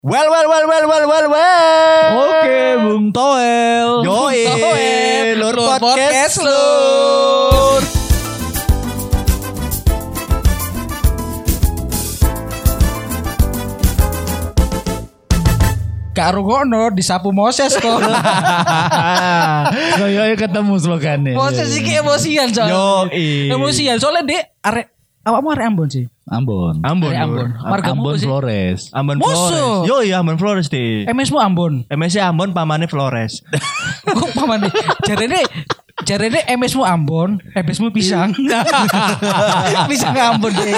Well. Oke, Bung Toel. Yoi, Lur Podcast Lur. Kak Rugono disapu Moses kok. Kayak ketemu slogannya. Moses iki emosian soalnya. Yoi. Emosian soalnya dia arek awakmu arek Ambon sih. Ambon. Ambon. Margamu Ambon sih. Flores. Ambon Musuh. Flores. Yoi, Ambon Flores deh. MS-mu Ambon. MSC Ambon pamane Flores. Kok pamane? Jarene MS-mu Ambon, MS-mu pisang. Pisang Ambon deh.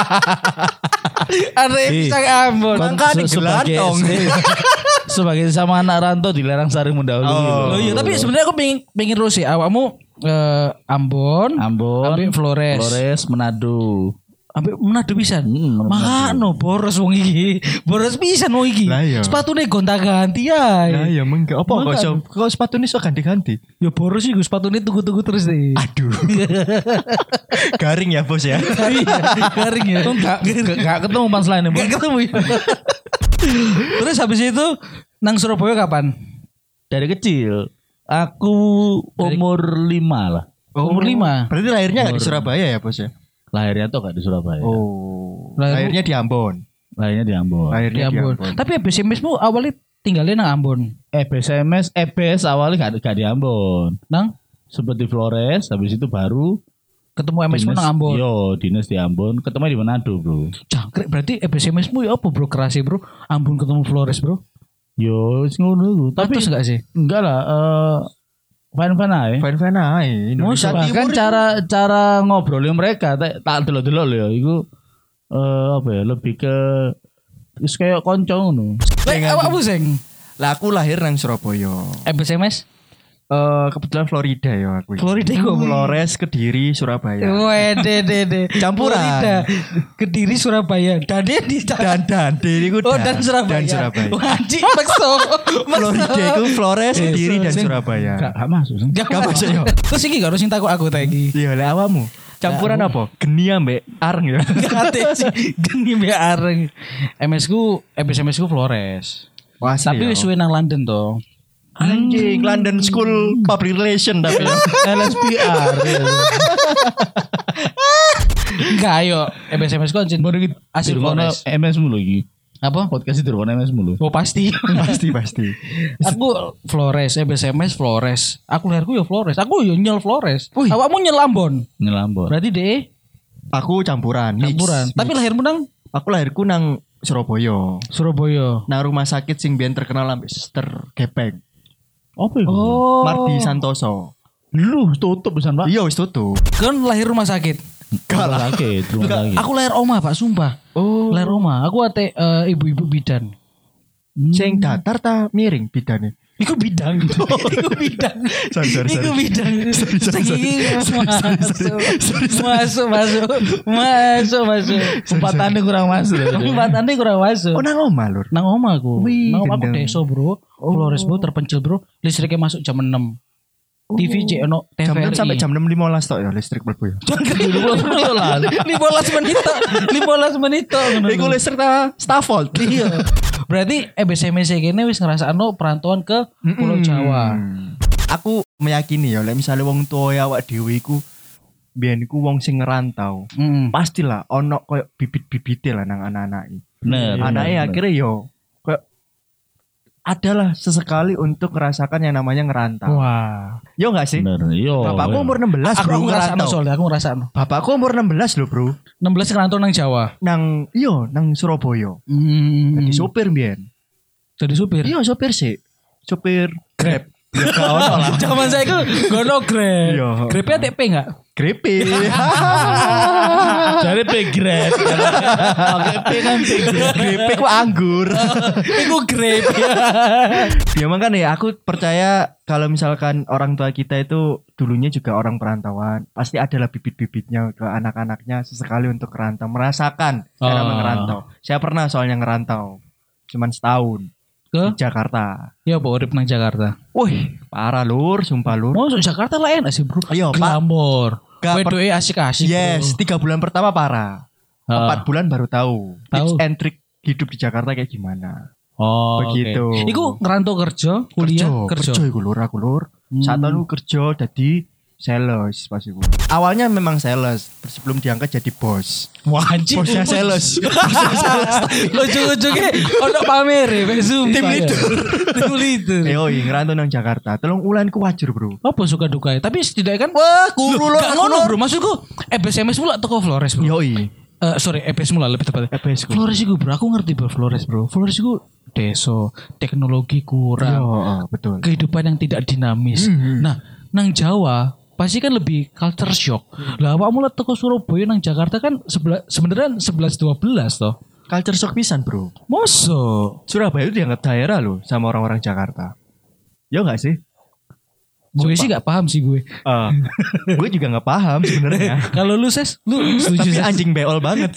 Arek pisang Ambon. Mangka digelantong. Sebagai sama anak rantau dilarang saring mendahului. Oh iya, tapi sebenarnya aku pengen terus sih awakmu Ambon, ambek Flores, Manado. ambek Manado pisan. Manado. Makano boros wong iki. Boros pisan wong iki. Lah iya. Sepatune gonta-ganti ae. Ya ya mengke apa Mangga. kok sepatune iso ganti-ganti. Ya boros sih sepatune tuku-tuku terus deh. Aduh. Garing ya, Bos ya. Iya, garing ya. Gak ketemu punchline-nya. Gak ketemu ya. Terus habis itu nang Surabaya kapan? Dari kecil. Aku umur 5 lah. Umur 5. Berarti lahirnya enggak di Surabaya ya, Bos ya? Lahirnya tuh gak di Surabaya. Oh. Lahir- Lahirnya di Ambon. Lahirnya di Ambon. Di Lahirnya di Ambon. Ambon. Tapi SMS-mu awalnya tinggalnya nang Ambon. EBS awalnya gak di Ambon. Nang Sempet di Flores, habis itu baru ketemu MS-mu nang Ambon. Yo, dinas di Ambon, ketemu di Manado, Bro. Jangkrik berarti SMS-mu ya apa bro kerasi bro? Ambon ketemu Flores bro. Yo, wis ngono iku. Tapi Tapi enggak sih? enggak lah, fan-fan aja. Fan-fan ae. Indonesia Bahkan Timur cara ngobrolin mereka tak delok-delok lho ya, iku apa ya, lebih ke wis kayak konco ngono. Lek awakmu sing Lah aku lahir nang Surabaya. SMS Kebetulan Florida ya aku. Florida iku apa? Flores, Kediri, Surabaya. Wede. Campuran. Florida, Kediri, Surabaya. Dade di Dan diriku Oh dan Surabaya. Dan Surabaya. Wajib makso. Florida itu Flores, Kediri dan Sing- Surabaya. Gak masuk. Sing. Gak masuk, yo. Terus iki gak harus takut aku ta iki. Iya, lah awamu. Campuran apa? Geni ambek areng ya. Kate sih geni mbek areng. MS-ku Flores. Wah, Tapi wis suwe nang London to. anjing London School Public Relation tapi ya. LSPR. Enggak ayo SMS-ku anjing asli Flores. MS mulu iki. Apa? Podcast itu MS mulu. Oh pasti. pasti. Aku Flores, SMS Flores. Aku lahirku ya Flores. Aku ya nyel Flores. Wih. Awakmu nyel Ambon. Nyelambon. Berarti deh Aku campuran. mix. campuran. Tapi lahirmu nang Aku lahirku nang Surabaya. Surabaya. Nang rumah sakit sing biyen terkenal ambek Sister Gepeng. Apa itu? Oh. Mardi Santoso. Lu tutup pisan, Pak. Iya wis tutup. Kan lahir rumah sakit. Rumah sakit, rumah sakit. Aku lahir oma Pak, sumpah. Oh. Lahir oma. Aku ate ibu-ibu bidan. Sing datar ta miring bidane. Iku bidang. Iku bidang. Sorry. Iku bidang. Masuk. Umpatannya kurang masuk. Umpatannya kurang masuk. Oh nang omah lur. Nang oma aku. Wih, Nang oma aku gendeng. desa, Bro. Flores bro terpencil, Bro. Listriknya masuk jam 6. TV cek ono Jam 6 TVRI. sampai jam 6.15 tok ya listrik mlebu ya. 15 menit tok. Iku listrik ta Stafford. Iya. Berarti EBSMC kene wis ngrasakno perantauan ke Pulau Jawa. Aku meyakini ya lek misale wong tuwa awak dhewe iku biyen iku wong sing ngerantau. Pastilah ono koyo bibit-bibite lah nang anak-anake. Bener. Anake bener. akhirnya yo koyo adalah sesekali untuk merasakan yang namanya ngerantau. Wah. Yo enggak sih? Bener. Yo. Bapakku umur 16 Aku bro ngrasakno ngerantau. soalnya, aku ngrasakno. Bapakku umur 16 loh bro. 16 ngerantau nang Jawa. Nang Surabaya. Jadi sopir biyen. Jadi supir. Iya sopir sih. Sopir Grab. Ya gak ono lah. Zaman saya itu gono Grab. Iya. Grabnya TP enggak? Grepe. Dari pegret. Oke, kan pegret. Grepe ku anggur. Iku Grab. Ya makanya ya aku percaya kalau misalkan orang tua kita itu dulunya juga orang perantauan, pasti adalah bibit-bibitnya ke anak-anaknya sesekali untuk merantau, merasakan cara Oh. ngerantau. Saya pernah soalnya ngerantau, cuman setahun Ke? di Jakarta. Ya apa urip nang Jakarta. Wih, parah lur, sumpah lur. Mau Jakarta lah enak sih, Bro. Iya, Pak. Glamor. Gak per- Wedoke asik-asik. Yes, 3 bulan pertama parah. 4 bulan baru tahu Tahu. tips and trick hidup di Jakarta kayak gimana. Oh, begitu. Okay. Iku ngerantau kerja, kuliah, kerja. Kerja iku lur. Saat itu kerja jadi sales pas iku. Awalnya memang sales, terus sebelum diangkat jadi bos. Wah anjing. Bosnya sales. Ujung-ujungnya ono pamer ya, Zoom. Tim leader. Ngerantau nang Jakarta. Tolong ulan ku wajar, Bro. Apa suka duka? Tapi setidaknya kan Wah, kulo gak ngono, Bro. Maksudku EBSMS mula toko Flores, Bro. Yoi. Sorry, EBS mula lebih tepatnya. Flores iku, Bro. Aku ngerti, Bro, Flores, Bro. Flores iku desa, teknologi kurang. Betul. Kehidupan yang tidak dinamis. Nah, nang Jawa pasti kan lebih culture shock. Lah awakmu lihat toko Surabaya nang Jakarta kan sebenarnya 11-12 toh. Culture shock pisan, Bro. Mosok Surabaya itu dianggap daerah loh sama orang-orang Jakarta. Ya enggak sih? gue sih gak paham sih gue. Gue juga gak paham sebenarnya. Kalau lu Ses, lu setuju? Tapi anjing beol banget.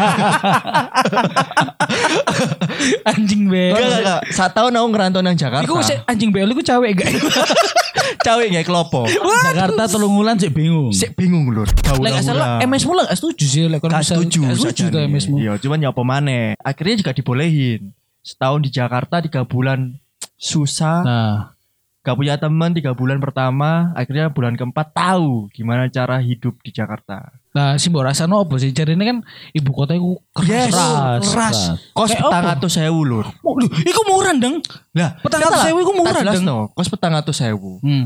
Anjing beol. Enggak. 1 tahun aku ngerantau nang Jakarta. Iku anjing beol iku cewek gak? Cewek gak kelopo. Jakarta 3 wulan sik bingung. Sik bingung lur. Lek salah MS mu lah gak setuju sih lek gak setuju tuh MS mu. Iya, cuman ya apa maneh. Akhirnya juga dibolehin. Setahun di Jakarta 3 bulan susah. Nah, gak punya teman 3 bulan pertama, akhirnya bulan keempat tahu gimana cara hidup di Jakarta. Nah, sih mbok rasano opo sih? Jadi ini kan ibu kota iku keras. Kos 400.000 lur. Iku murah deng. Lah, 400.000 iku murah deng. No, kos 400.000.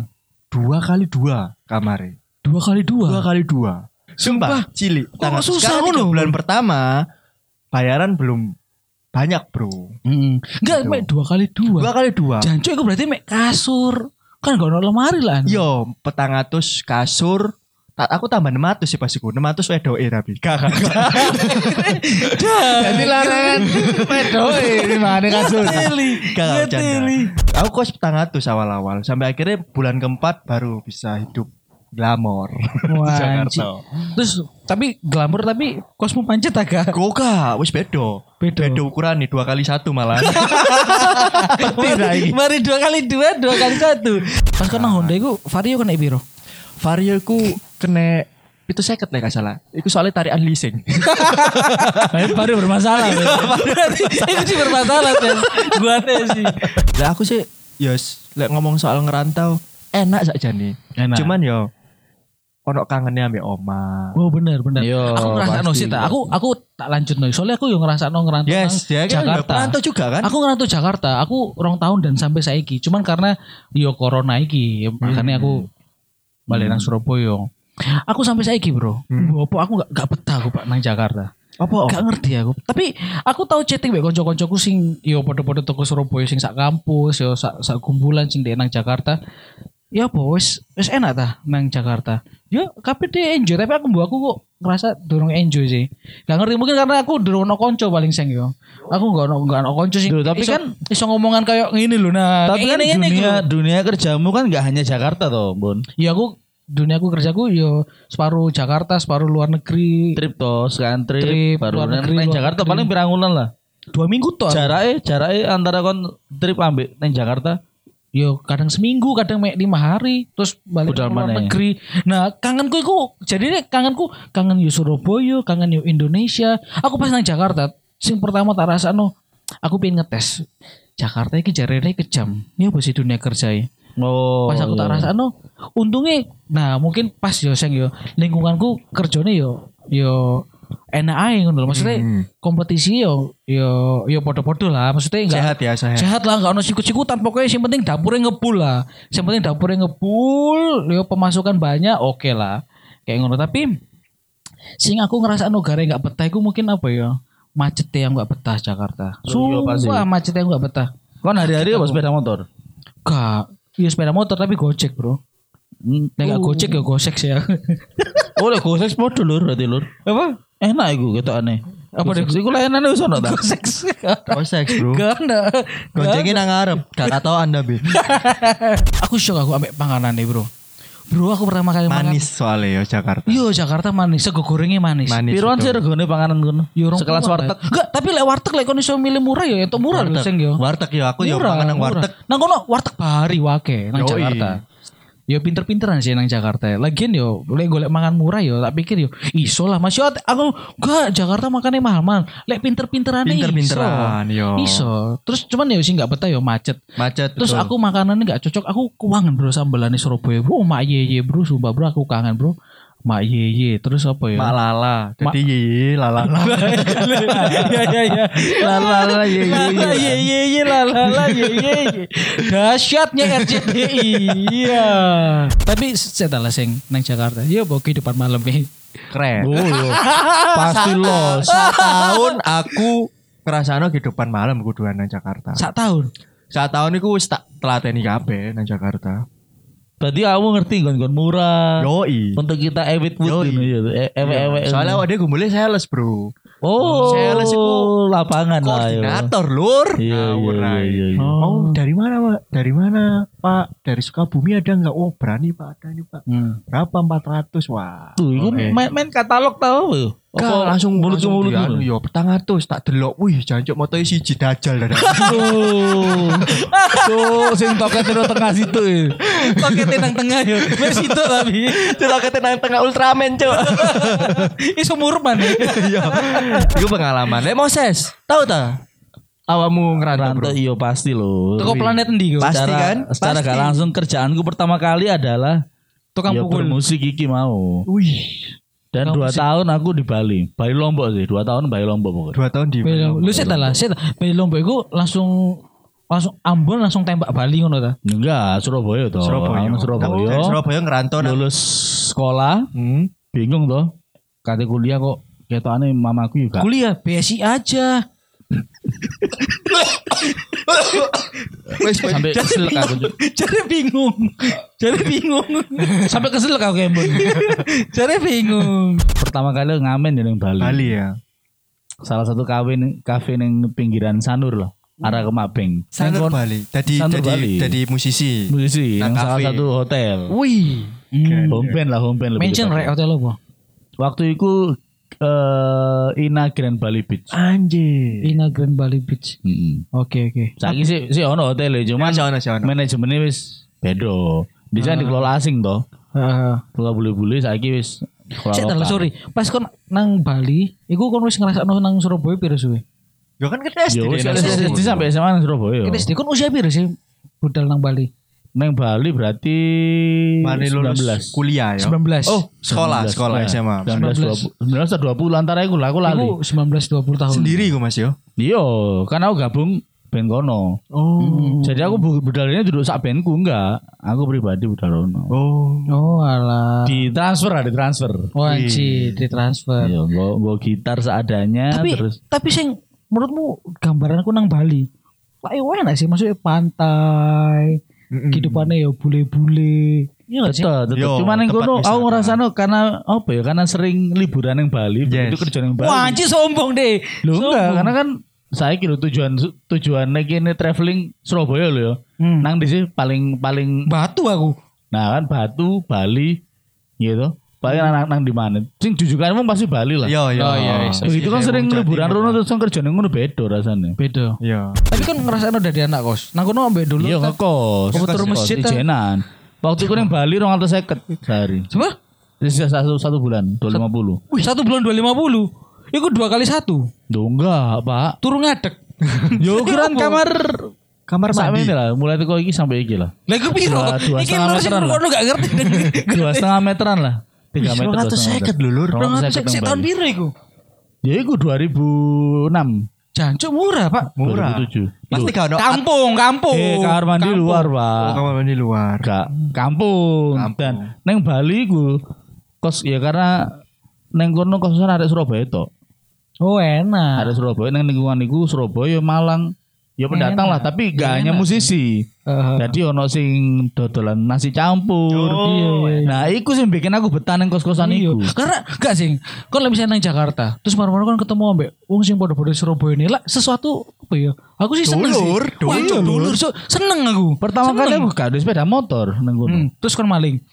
2x2 kamare. 2x2. 2x2. Sumpah, cilik. Kok susah ngono? Bulan pertama bayaran belum banyak, Bro. Enggak, mek 2x2. 2x2. Jancuk iku berarti mek kasur. Kan gak ono lemari lah. Yo, 400 kasur. Aku tambah 600 sih pas iku. 600 wedoke tapi. Kakak. Jadi larangan wedoke di mana kasur. Kakak canda. Aku kos 400 awal-awal sampai akhirnya bulan keempat baru bisa hidup glamor di Jakarta. Terus tapi glamor tapi kosmu pancet agak. Goga, wis bedo. Beda ukuran nih 2x1 malah. Mari 2x2, 2x1. Pas kena Honda iku Vario kena piro? Vario iku kena itu seket nih gak salah. Itu soalnya tarian leasing. Vario bermasalah. Itu sih bermasalah kan. Gua sih. Lah aku sih yes, lek ngomong soal ngerantau enak saja nih. Cuman yo ono kangennya ambek oma. Oh bener. Yo, aku ngerasakno sih tak. Aku tak lanjut nih. Soalnya aku yo ngerasakno ngerantau Jakarta. Ngerantau juga kan? Aku ngerantau Jakarta. Aku 2 tahun dan sampai saiki. Cuman karena yo corona iki, makanya aku balik nang Surabaya. Aku sampai saiki, Bro. Apa aku gak betah aku Pak nang Jakarta. Apa? Gak ngerti aku. Tapi aku tahu chatting mbek kanca-kancaku sing yo padha-padha toko Surabaya sing sak kampus, yo sak kumpulan sing ndek nang Jakarta. Ya apa wis enak ta nang Jakarta. Ya kabeh dia enjoy, tapi aku kok ngerasa durung enjoy sih. Gak ngerti mungkin karena aku durung ono kanca paling sing yo. Aku gak ono kanca sing. Tapi kan iso ngomongan kayak ngene lho. Nah, tapi kan dunia kerjamu kan gak hanya Jakarta toh, Bun. Ya duniaku kerjaku yo separuh Jakarta, separuh luar negeri. Trip toh, sekarang trip baru nang Jakarta paling pirang wulan lah. 2 minggu toh. Jarake antara kon trip ambek nang Jakarta yo kadang seminggu, kadang 5 hari, terus balik ke luar negeri. Nah, kangenku iku jadi kangen yo Surabaya, kangen yo Indonesia. Aku pas nang Jakarta, sing pertama tak rasakno, aku pengen ngetes. Jakarta iki jarene kejam. Ini apa sih dunia kerja ya? Oh. Pas aku tak rasakno, untungnya nah mungkin pas yo sing yo lingkunganku kerjane yo enak ae ngono lho. Maksudnya kompetisi yo podo-podo lah. Maksudnya enggak sehat lah, enggak ono sikut-sikutan. Pokoknya yang penting dapurnya ngebul lah. Yang penting dapurnya ngebul, yo pemasukan banyak, oke lah. Kayak ngono. Tapi sing aku ngerasa negara enggak betah iku mungkin apa ya? Macet yang enggak betah Jakarta. Sumpah macet yang enggak betah. Kon hari-hari apa sepeda motor? Enggak. Iya sepeda motor tapi Gojek, Bro. Nek Gojek ya Gosek sih ya. Oh, lek Gosek podo lur berarti lur. Apa? Enak iku ketokane. Apa dek iku layanane wis ono ta? Gosek, Bro. Gak ada. Gojeknya nang ngarep, gak tau Anda, Bi. Aku shock aku ambek panganane, Bro. Bro, aku pertama kali manis soalnya ya Jakarta. Iya, Jakarta manis, sego gorengnya manis. Piruan sih regane panganan kono? Sekelas warteg. Enggak, tapi lek warteg lek kon iso milih murah ya entuk murah lho sing yo. Warteg ya aku yo pangan nang warteg. Nang kono warteg bahari wake nang Jakarta. yo pinter-pinteran sih nang Jakarta. Lagian yo golek mangan murah yo tak pikir yo iso lah Mas. Yo aku enggak Jakarta makannya mahal-mahal. Lek pinter-pinterane Pinter-pinteran yo. Iso. Terus cuman yo sih enggak betah yo macet. betul. Terus aku makanannya enggak cocok. Aku kangen bro sambalane Surabaya. Bro, mak ye bro, sumpah bro aku kangen bro. Mak ye terus apa ya? Mak lala. Jadi ye lala. Ya. Lala ye. Lala ye. Dahsyatnya RCTI. Iya. Tapi setelah sing nang Jakarta, ya bawa kehidupan malam ini. Keren. Oh yo. Pasti los. Setahun aku ngrasakno kehidupan malam kuduan nang Jakarta. Sak tahun. Setahun iku wis tak telateni kabeh nang Jakarta. Berarti kamu ngerti gon murah. Yoi. Untuk kita ewit Yoi. ewek. Soalnya awake gumbule sales, Bro. Oh, sales iku lapangan lah yo. Koordinator, Lur. Iya. Oh, dari mana, Pak? Dari mana, Pak? Dari Sukabumi ada enggak? Oh, berani, Pak. Ada nih, Pak. Berapa? 400. Wah. Tuh, itu main katalog tau yo. Apa langsung mulut mulut yo petang atus tak delok. Wih, jancuk motoe siji dajal dah. Tuh, sing tokete nang tengah situ ya. Tokete nang tengah yo. Wis itu tapi. Tokete nang tengah Ultraman, Cuk. Iso murman. Iya. Iku pengalaman. Moses, tahu ta? Awakmu ngerantau, Bro? Iya pasti loh. Toko planet endi kok? Pasti kan? Secara Pasti. gak langsung kerjaanku pertama kali adalah Tukang ya pukul. bermusik iki mau. Wih. Dan 2 tahun aku di Bali. Bali Lombok sih. 2 tahun Bali Lombok pokoknya. 2 tahun di Lu set lah, Bali Lombok iku langsung Ambon langsung tembak Bali ngono ta? Enggak, Surabaya toh. Surabaya. Aku Surabaya. Dari Surabaya ngerantau nang Lulus sekolah, bingung toh. Kate kuliah kok ketokane mamaku juga. Kuliah BSI aja. Sampai kesel aku. Jadi bingung. Sampai kesel aku Kembon. Jadi bingung. Pertama kali ngamen di Bali. Bali ya. Salah satu kafe ning pinggiran Sanur lah. Arah ke Mabeng. Sanur Bali. Sanur Bali. Jadi musisi. Musisi Nang yang salah kafe. satu hotel. Wih. Home band lebih Mention tepatnya. rek hotel apa? Waktu itu Ina Grand Bali Beach. Anjir. Ina Grand Bali Beach. Oke. Saiki sih ono hotel cuman Sono. manajemennya wis beda. Bisa dikelola asing toh. Heeh. Kelola bule-bule saiki wis Cek tak sorry. Pas kon nang Bali, iku kon wis ngrasakno nang Surabaya piro suwe? Yo kan kita SD. Yo wis nang SD Surabaya. sampai SMA nang Surabaya. Kita SD kon usia piro sih budal nang Bali? Nang Bali berarti Mane lulus 19. kuliah ya. 19. Oh, sekolah ya. SMA. 19 atau 20 antara iku lah aku lali. Iku 19-20 tahun. Sendiri gue Mas yo. Iya, kan aku gabung band kono. Oh. Jadi aku budalnya duduk sak bandku enggak. Aku pribadi budal kono. Oh alah. Ditransfer. Oh anjir, ditransfer. Iya, gua gitar seadanya terus. Tapi sing menurutmu gambaranku nang Bali. Lah yo enak sih maksudnya pantai. Kehidupannya ya bule-bule. Iya gak sih? Betul. Yo, Cuman yang tempat kono aku wisata. ngerasano karena apa ya? Karena sering liburan yang Bali, Yes. itu kerja yang Bali. Wah anjir sombong deh. Loh enggak, Sombong. karena kan saya kira tujuan ini traveling Surabaya loh ya. Nang di sini paling Batu aku. nah kan Batu, Bali gitu. Paling nang di mana? Sing jujukanmu pasti Bali lah. Yo. Oh, iya. Begitu kan sering liburan rono terus kerja yang ngono beda rasanya. Beda. Yo. Tapi kan ngerasain dari anak kos. Nang kono ambek dulu. Iya kan. ngekos. Apa turun masjid, Di kan? Jenan. Waktu itu yang Bali 250 sehari. Coba? Sisa satu bulan 250. Wih 1 bulan 250. Iku 2 kali 1. Duh enggak pak. Turun ngadek. Yo ukuran kamar Kamar mandi. ini lah. Mulai teko iki sampai iki lah. Lah iku piro? Dua Iki setengah lu sing meteran lah. kono gak ngerti. 2,5 meteran lah. 3 meter. 250 lho, Lur. 250 Sik tahun piro iku? Ya iku 2006. Jancuk murah, Pak. Murah. 2007. Pasti gak ono. Kampung. Kamar mandi luar, Pak. Oh, kamar mandi luar. Gak kampung. Dan neng Bali ku kos ya karena neng kono kosan arek Surabaya tok. Oh, enak. Arek Surabaya neng lingkungan iku Surabaya Malang. Ya pendatang lah, tapi gak hanya musisi. Jadi ono sing dodolan nasi campur. Iya. Nah, iku sing bikin aku betah neng kos-kosan Iya. iku. Karena gak sih, kon lebih senang Jakarta. Terus baru-baru kan ketemu ambek wong sing padha-padha Surabaya ini lah sesuatu apa ya? Aku sih seneng Dulur, sih. Wah, dulur. So, seneng aku. Pertama kali aku gak ada sepeda motor neng kono. Terus kon maling.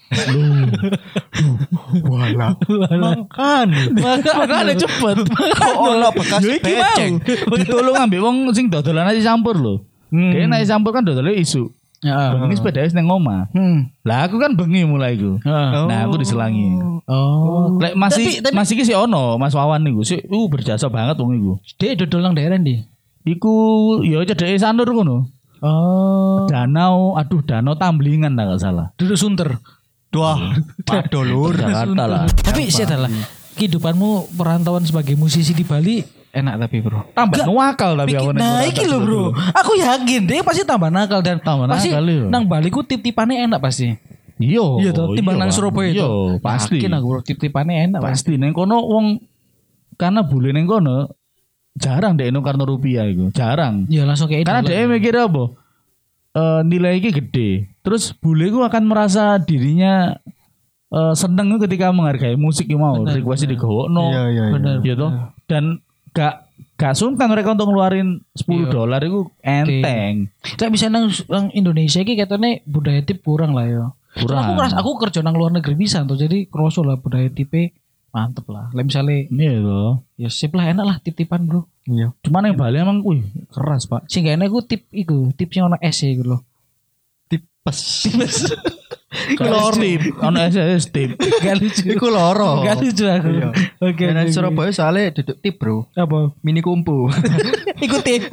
Walah. Makan. Makanya cepet. Oh, ono bekas Yo iki becek. mau. Ditolong ambek wong sing dodolan nasi campur lho. Kayak nasi campur kan dodolnya isu. Heeh. Bengi sepeda wis nang omah. Lah aku kan bengi mulai iku. Nah, aku diselangi. Oh. Lek masih iki sih ono Mas Wawan niku. Sik berjasa banget wong iku. Dek dodol nang daerah ndi? Iku ya cedeke Sanur ngono. Oh. Danau Tamblingan tak gak salah. Duduk Sunter. Wah, padha lur. Jakarta lah. Tapi saya lah. Kehidupanmu perantauan sebagai musisi di Bali enak tapi bro. Tambah nuwakal tapi aku Nah iki lho bro. Aku yakin dia pasti tambah nakal dan pasti nang Bali ku tip-tipannya enak pasti. Iya toh timbang nang Surabaya itu. Iya pasti. Yakin aku bro tip-tipannya enak pasti. Neng kono wong karena bule neng kono jarang deh karena rupiah itu jarang. Ya langsung kayak karena dia mikir apa? Nilai ini gede. Terus bule ku akan merasa dirinya seneng ketika menghargai musik yang mau request digawokno. Iya. Bener. Gitu. Dan gak sungkan mereka untuk ngeluarin $10 itu enteng. Tapi bisa nang Indonesia iki katanya budaya tip kurang lah ya. Kurang. Aku kerja nang luar negeri bisa tuh jadi kroso lah budaya tipe mantep lah. Lah misalnya iya loh. Ya sip lah enak lah tip-tipan bro. Iya. Cuman yang Bali emang keras pak. Sehingga enak gue tip yang ono es ya gitu loh. Tipes. Kalau tip, ono SS tip. Gak lucu. Iku loro. Gak lucu aku. Oke. Karena Surabaya soalnya duduk tip bro. Apa? Mini kumpu. Ikut tip.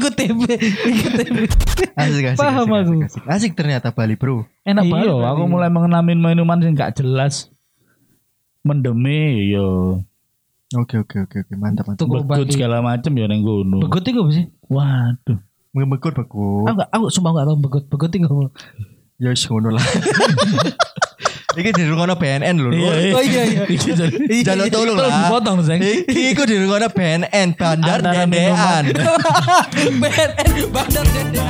Asik. Paham aku. Asik ternyata Bali bro. Enak banget. Iya, aku mulai mengenamin minuman yang gak jelas. Mendeme yo. Oke. Mantap. Begut segala macem ya neng gunung. Begut itu apa sih? Waduh. Begut. Aku sumpah gak tau begut itu apa. Ya wis ngono lah. Iki dirungono BNN lho. Oh iya. Jaluk tolong lah. Dipotong Zeng. Iki dirungono BNN Bandar Dendean. BNN Bandar Dendean.